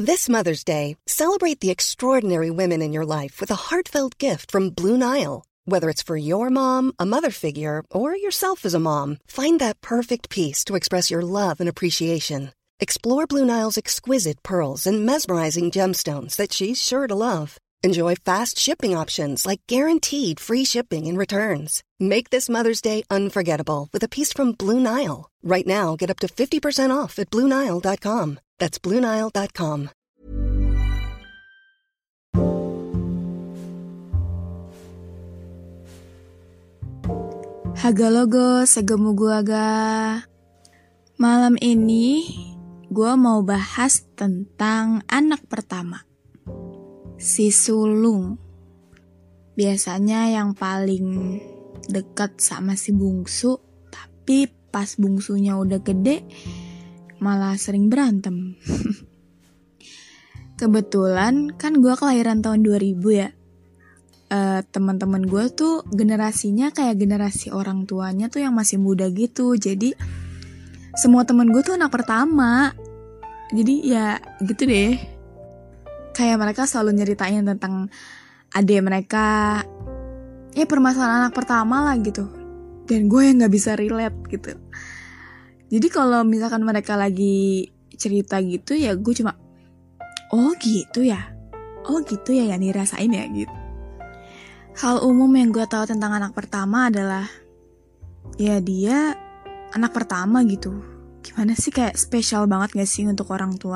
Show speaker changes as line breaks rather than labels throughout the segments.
This Mother's Day, celebrate the extraordinary women in your life with a heartfelt gift from Blue Nile. Whether it's for your mom, a mother figure, or yourself as a mom, find that perfect piece to express your love and appreciation. Explore Blue Nile's exquisite pearls and mesmerizing gemstones that she's sure to love. Enjoy fast shipping options like guaranteed free shipping and returns. Make this Mother's Day unforgettable with a piece from Blue Nile. Right now, get up to 50% off at BlueNile.com. That's BlueNile.com.
Haga logo, segemu gua ga. Malam ini gua mau bahas tentang anak pertama, si sulung. Biasanya yang paling dekat sama si bungsu, tapi pas bungsunya udah gede malah sering berantem. Kebetulan kan gue kelahiran tahun 2000 ya. Teman-teman gue tuh generasinya kayak generasi orang tuanya tuh yang masih muda gitu. Jadi semua teman gue tuh anak pertama. Jadi ya gitu deh. Kayak mereka selalu nyeritain tentang adik mereka. Ya permasalahan anak pertama lah gitu. Dan gue yang gak bisa relate gitu. Jadi kalau misalkan mereka lagi cerita gitu ya gue cuma oh gitu ya yang dirasain ya gitu. Hal umum yang gue tahu tentang anak pertama adalah ya dia anak pertama gitu. Gimana sih, kayak spesial banget gak sih untuk orang tua?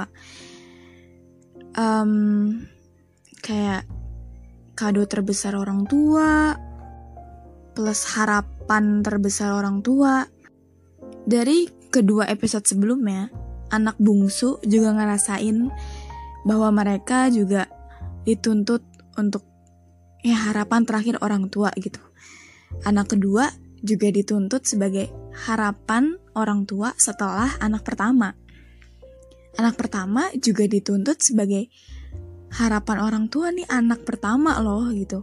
Kayak kado terbesar orang tua plus harapan terbesar orang tua. Dari kedua episode sebelumnya, anak bungsu juga ngerasain bahwa mereka juga dituntut untuk ya harapan terakhir orang tua gitu. Anak kedua juga dituntut sebagai harapan orang tua setelah anak pertama. Anak pertama juga dituntut sebagai harapan orang tua nih anak pertama loh gitu.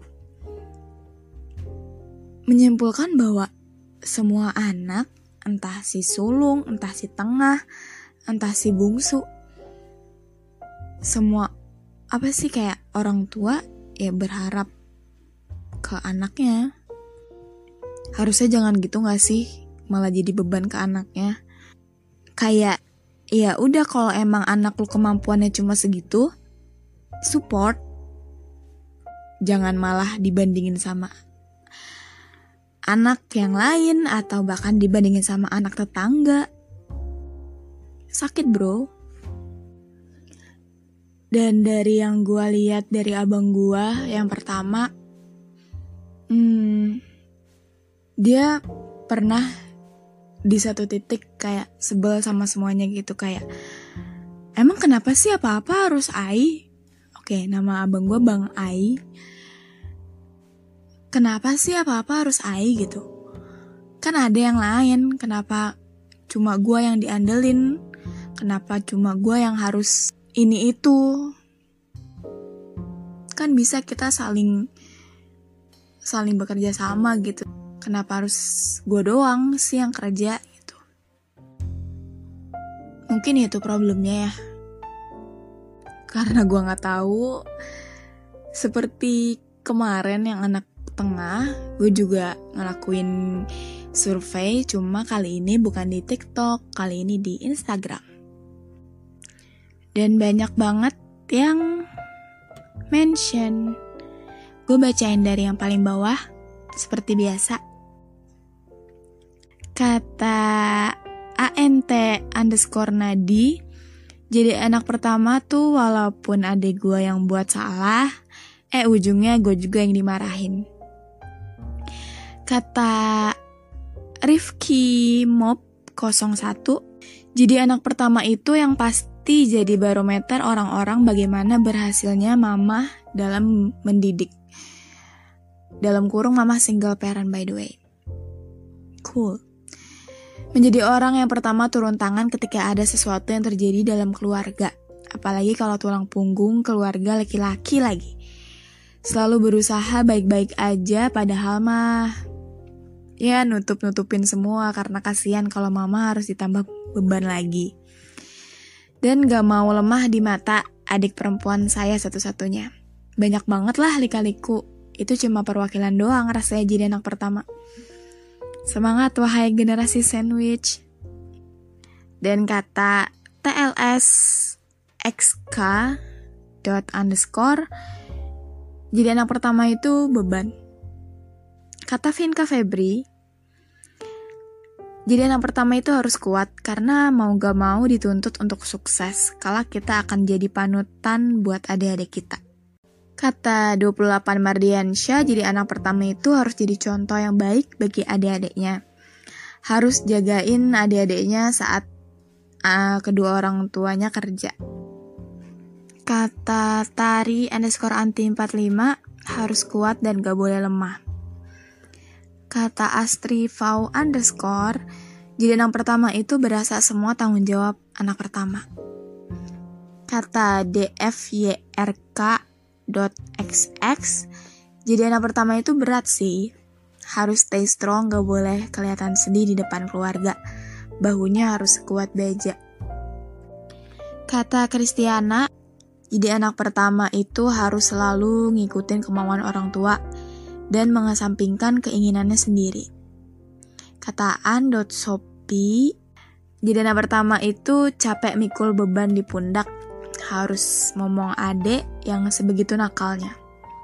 Menyimpulkan bahwa semua anak, entah si sulung, entah si tengah, entah si bungsu, semua apa sih kayak orang tua ya berharap ke anaknya. Harusnya jangan gitu gak sih? Malah jadi beban ke anaknya. Kayak ya udah kalau emang anak lu kemampuannya cuma segitu, support. Jangan malah dibandingin sama anak yang lain atau bahkan dibandingin sama anak tetangga. Sakit bro. Dan dari yang gue lihat dari abang gue yang pertama, dia pernah di satu titik kayak sebel sama semuanya gitu. Kayak emang kenapa sih apa-apa harus Ai? Oke, nama abang gue Bang Ai. Kenapa sih apa-apa harus Ai gitu? Kan ada yang lain, kenapa cuma gue yang diandelin? Kenapa cuma gue yang harus ini itu? Kan bisa kita saling bekerja sama gitu. Kenapa harus gue doang sih yang kerja gitu? Mungkin itu problemnya ya. Karena gue gak tahu. Seperti kemarin yang anak tengah, gue juga ngelakuin survei, cuma kali ini bukan di TikTok, kali ini di Instagram. Dan banyak banget yang mention. Gue bacain dari yang paling bawah, seperti biasa. Kata ANT_Nadi, jadi anak pertama tuh walaupun adik gue yang buat salah, ujungnya gue juga yang dimarahin. Kata Rifki Mob 01, jadi anak pertama itu yang pasti jadi barometer orang-orang bagaimana berhasilnya mama dalam mendidik. Dalam kurung mama single parent by the way. Cool. Menjadi orang yang pertama turun tangan ketika ada sesuatu yang terjadi dalam keluarga. Apalagi kalau tulang punggung keluarga laki-laki lagi. Selalu berusaha baik-baik aja padahal mah ya nutup-nutupin semua karena kasihan kalau mama harus ditambah beban lagi. Dan gak mau lemah di mata adik perempuan saya satu-satunya. Banyak banget lah lika-liku. Itu cuma perwakilan doang rasanya jadi anak pertama. Semangat wahai generasi sandwich. Dan kata TLS XK._, jadi anak pertama itu beban. Kata Vinka Febri, jadi anak pertama itu harus kuat karena mau gak mau dituntut untuk sukses. Kalau kita akan jadi panutan buat adik-adik kita. Kata 28 Mardiansyah, jadi anak pertama itu harus jadi contoh yang baik bagi adik-adiknya. Harus jagain adik-adiknya saat kedua orang tuanya kerja. Kata Tari_anti45, harus kuat dan gak boleh lemah. Kata Astri_, jadi anak pertama itu berasa semua tanggung jawab anak pertama. Kata DFYRK.XX, jadi anak pertama itu berat sih. Harus stay strong, gak boleh kelihatan sedih di depan keluarga. Bahunya harus kuat baja. Kata Kristiana, jadi anak pertama itu harus selalu ngikutin kemauan orang tua dan mengesampingkan keinginannya sendiri. Kata An.Sopi, jadi anak pertama itu capek mikul beban di pundak, harus ngomong adek yang sebegitu nakalnya.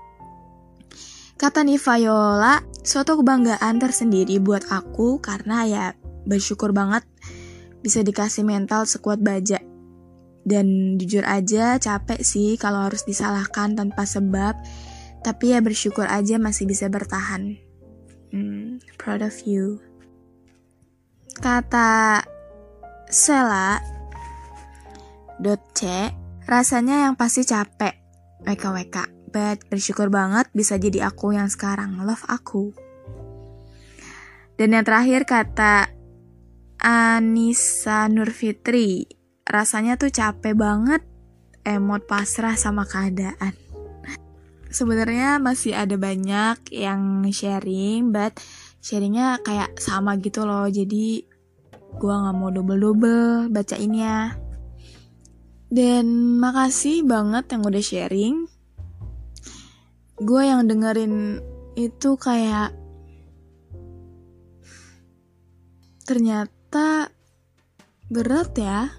Kata Nivayola, suatu kebanggaan tersendiri buat aku karena ya bersyukur banget bisa dikasih mental sekuat baja. Dan jujur aja capek sih kalau harus disalahkan tanpa sebab, tapi ya bersyukur aja masih bisa bertahan. Proud of you. Kata Sela.C, rasanya yang pasti capek, WKWK, but bersyukur banget bisa jadi aku yang sekarang, love aku. Dan yang terakhir kata Anissa Nurfitri, rasanya tuh capek banget, emot pasrah sama keadaan. Sebenarnya masih ada banyak yang sharing, but sharingnya kayak sama gitu loh, jadi gue gak mau double-double bacainnya. Dan makasih banget yang udah sharing. Gue yang dengerin itu kayak ternyata berat ya.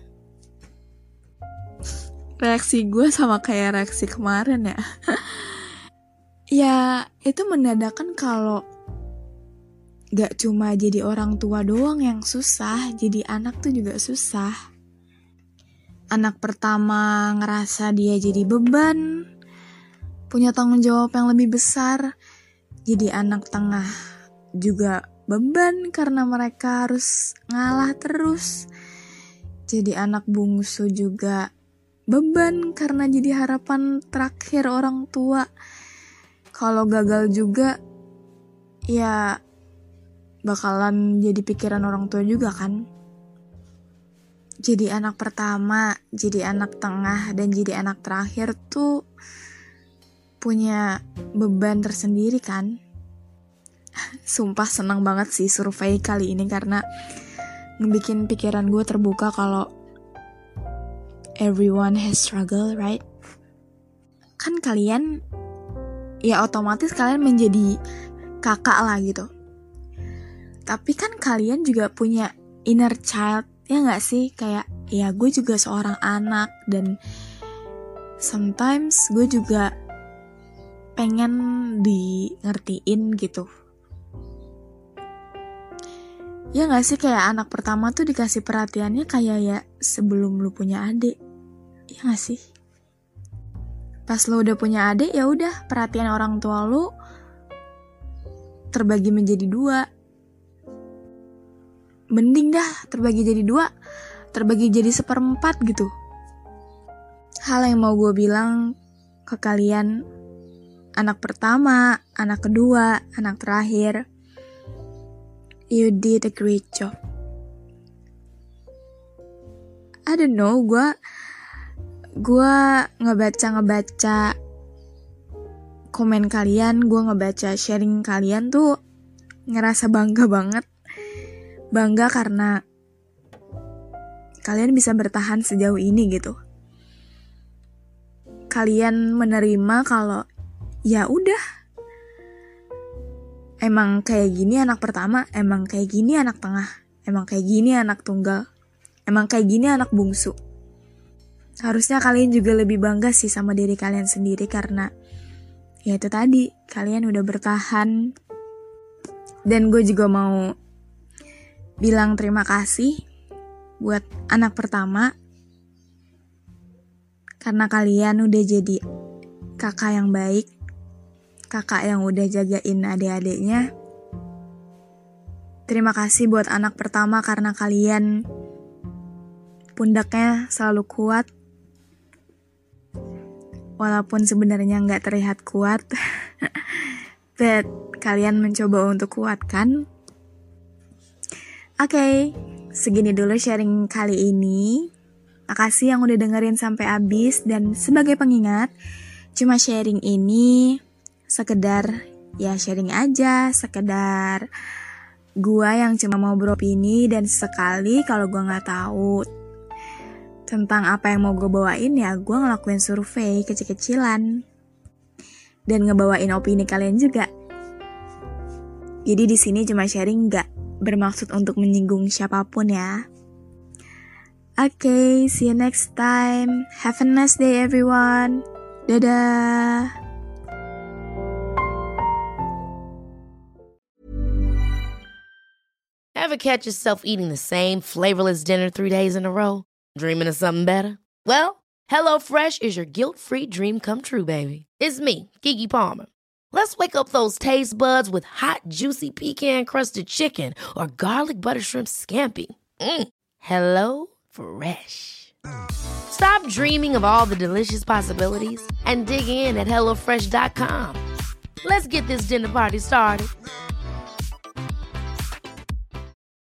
Reaksi gue sama kayak reaksi kemarin ya. Ya itu menandakan kalau gak cuma jadi orang tua doang yang susah, jadi anak tuh juga susah. Anak pertama ngerasa dia jadi beban, punya tanggung jawab yang lebih besar. Jadi anak tengah juga beban karena mereka harus ngalah terus. Jadi anak bungsu juga beban karena jadi harapan terakhir orang tua. Kalau gagal juga ya bakalan jadi pikiran orang tua juga kan. Jadi anak pertama, jadi anak tengah, dan jadi anak terakhir tuh punya beban tersendiri kan. Sumpah senang banget sih survei kali ini karena ngebikin pikiran gue terbuka kalau everyone has struggle, right? Kan kalian, ya otomatis kalian menjadi kakak lah gitu. Tapi kan kalian juga punya inner child, ya gak sih? Kayak, ya gue juga seorang anak dan sometimes gue juga pengen di ngertiin gitu. Ya gak sih, kayak anak pertama tuh dikasih perhatiannya kayak ya sebelum lu punya adik. Ya gak sih? Pas lu udah punya adik, ya udah perhatian orang tua lu terbagi menjadi 2. Mending dah terbagi jadi 2, terbagi jadi 1/4 gitu. Hal yang mau gue bilang ke kalian, anak pertama, anak kedua, anak terakhir, you did a great job. I don't know, gue ngebaca komen kalian, gue ngebaca sharing kalian tuh ngerasa bangga banget. Bangga karena kalian bisa bertahan sejauh ini gitu. kalian menerima kalau ya udah, emang kayak gini anak pertama, emang kayak gini anak tengah, emang kayak gini anak tunggal, emang kayak gini anak bungsu. Harusnya kalian juga lebih bangga sih sama diri kalian sendiri karena ya itu tadi, kalian udah bertahan. Dan gue juga mau bilang terima kasih buat anak pertama karena kalian udah jadi kakak yang baik, kakak yang udah jagain adik-adiknya. Terima kasih buat anak pertama karena kalian pundaknya selalu kuat, walaupun sebenarnya nggak terlihat kuat, but kalian mencoba untuk kuatkan. Oke, segini dulu sharing kali ini. Makasih yang udah dengerin sampai habis, dan sebagai pengingat, cuma sharing ini sekedar ya sharing aja, sekedar gua yang cuma mau beropini, dan sekali kalau gua nggak tahu tentang apa yang mau gue bawain ya gua ngelakuin survei kecil-kecilan dan ngebawain opini kalian juga. Jadi di sini cuma sharing, nggak bermaksud untuk menyinggung siapapun ya. Okay, see you next time. Have a nice day everyone. Dadah.
Ever catch yourself eating the same flavorless dinner 3 days in a row? Dreaming of something better? Well, HelloFresh is your guilt-free dream come true, baby. It's me, Keke Palmer. Let's wake up those taste buds with hot, juicy pecan-crusted chicken or garlic butter shrimp scampi. Hello Fresh. Stop dreaming of all the delicious possibilities and dig in at HelloFresh.com. Let's get this dinner party started.